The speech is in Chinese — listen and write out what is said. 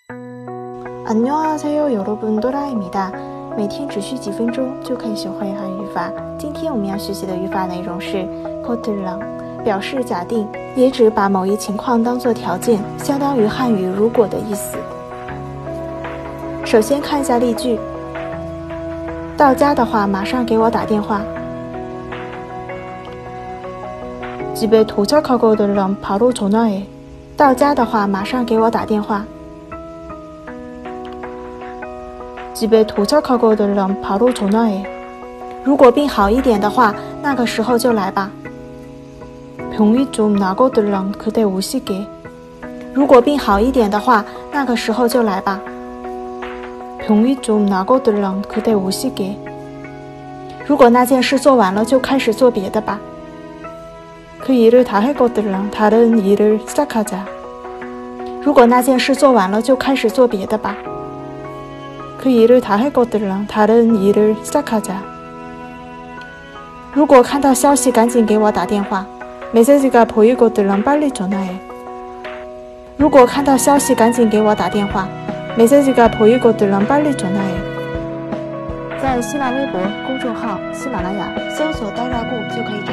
안녕하세요 여러분多拉입니다每天只需几分钟就可以学会韩语法。今天我们要学习的语法内容是 거들랑， 表示假定，也指把某一情况当作条件，相当于汉语如果的意思。首先看一下例句，到家的话马上给我打电话。집에 도착하거든 바로 전화해。到家的话马上给我打电话。집에 도착하거든 바로 전화해。如果病好一点的话，那个时候就来吧。병이 좀 나거든 그때 오시게。如果病好一点的话，那个时候就来吧。병이 좀 나거든 그때 오시게。如果那件事做完了，就开始做别的吧。그 일을 다 했거든 다른 일을 시작하자。如果那件事做完了，就开始做别的吧。그 일을 다 했거든 다른 일을 시작하자。如果看到消息，赶紧给我打电话。메시지가 보이거든 빨리 전화해。如果看到消息，赶紧给我打电话。메시지가 보이거든 빨리 전화해。在新浪微博公众号喜马拉雅搜索呆大固就可以